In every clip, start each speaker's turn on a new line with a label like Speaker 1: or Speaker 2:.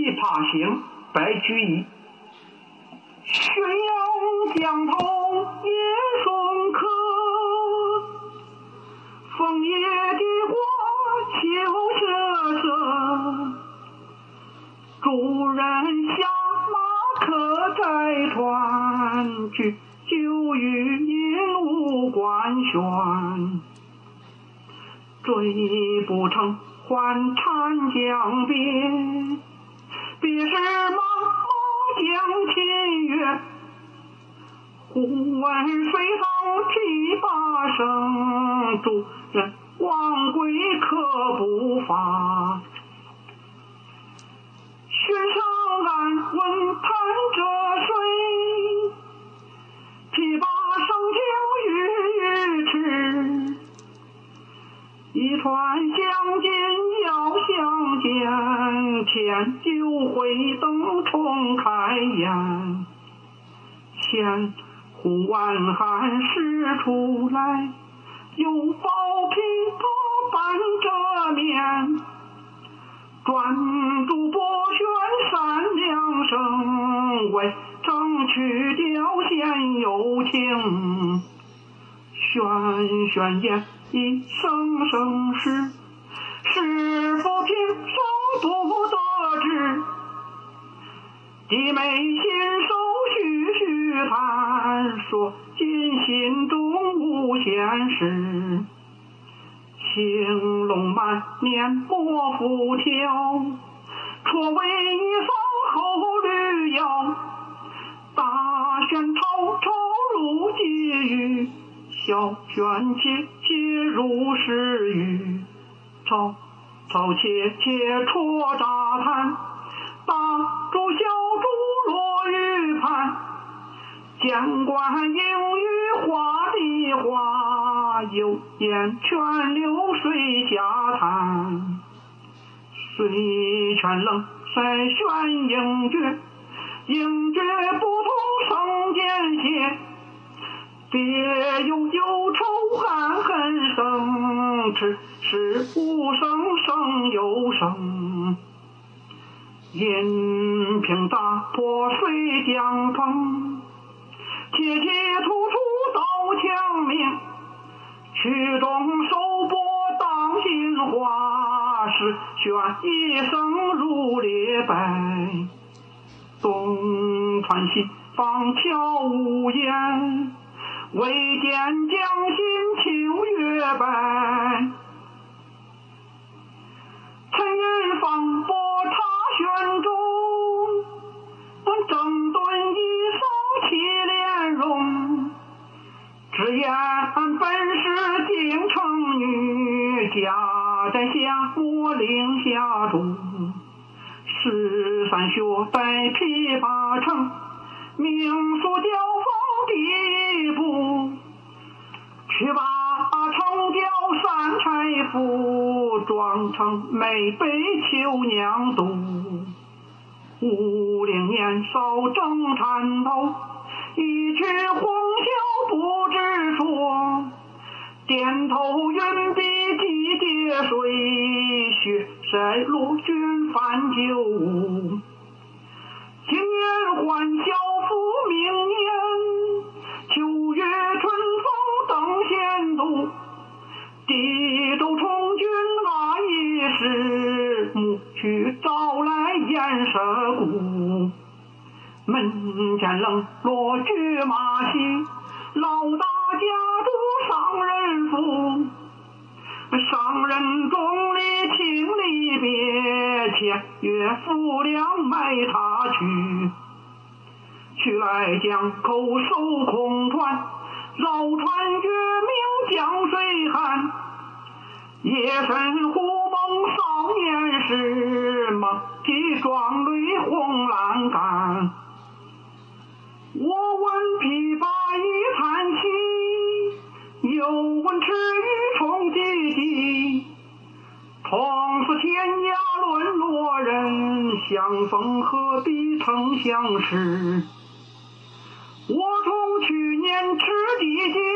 Speaker 1: 琵琶行，白居易。宣阳江头夜送客，枫叶的花秋瑟瑟。主人下马客载船去，酒与饮无关悬。追不成还长江边，别是茫茫江浸月。忽闻水上琵琶声，主人忘归客不发。寻上岸问弹者谁？琵琶声停欲语迟。一船相见要相见，添酒会灯重开颜。千呼万喊始出来，又抱琵琶伴着面。转朱拨弦三两声，为争取调弦有情。轩轩燕一声声是，是否平生不得志？弟妹信手续续谈，说尽心中无闲事。青龙满面莫复挑，错为一方后绿腰。大弦滔滔入际语，小弦切切入时语。吵吵切切戳炸弹，大珠小珠落玉盘。监管应语画的画，有言全流水下滩。水泉冷塞旋应绝，应绝不同生间歇。别有忧愁暗恨生，只是无声胜有声。银瓶打破水浆碰，切切突出刀枪鸣。曲中收拨当心花，是旋一声如裂白。东传西放悄无言，未见江心秋月白。沉吟放拨他弦中，整顿一方起莲容。只言本是京城女，家在下我岭下住。13学在琵琶城，名宿交锋第一步。去把城郊三钗赋，装成美被秋娘妒。50年少正缠头，一曲红绡不知说。点头云笔几叠水，雪塞罗君泛酒舞。今年还小妇，明年秋月春风等闲度。地州充军那一时，牧去招来燕舍鼓。门前冷落驹马稀，老大家住上人府。上人中里请离别，千月浮梁埋他去。去来江口守空船，绕船绝明江水寒。夜深忽梦少年时，梦啼壮泪红阑干。我闻琵琶一叹息，又闻池鱼虫唧唧。同是天涯沦落人，相逢何必曾相识。我从去年吃地经，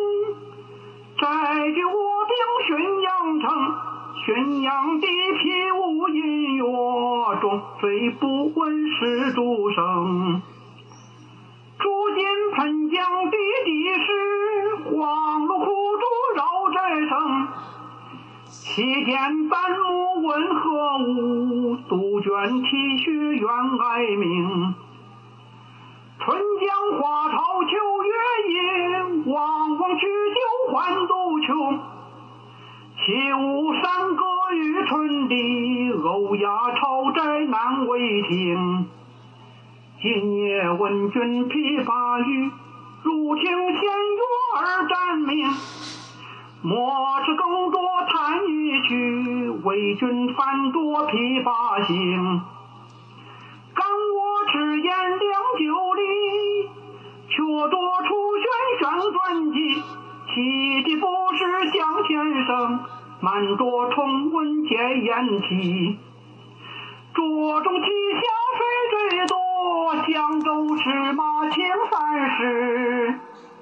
Speaker 1: 再据我兵浔阳城。浔阳地皮无音乐， 国中，虽不闻世诸声。如今喷江地地势，黄芦苦竹绕寨声。其间半目问何物？杜鹃啼血愿哀鸣。春江花草秋月夜，望望举酒欢度秋。岂无山歌与春笛，欧亚朝斋难为听。今夜闻君琵琶语，如听弦乐而战鸣。莫知更多叹一句，为君反夺琵琶行。感我只言良久里，却多出轩传记。其的不是向先生，满多重温皆言起。桌中旗下水最多，江州石马青30。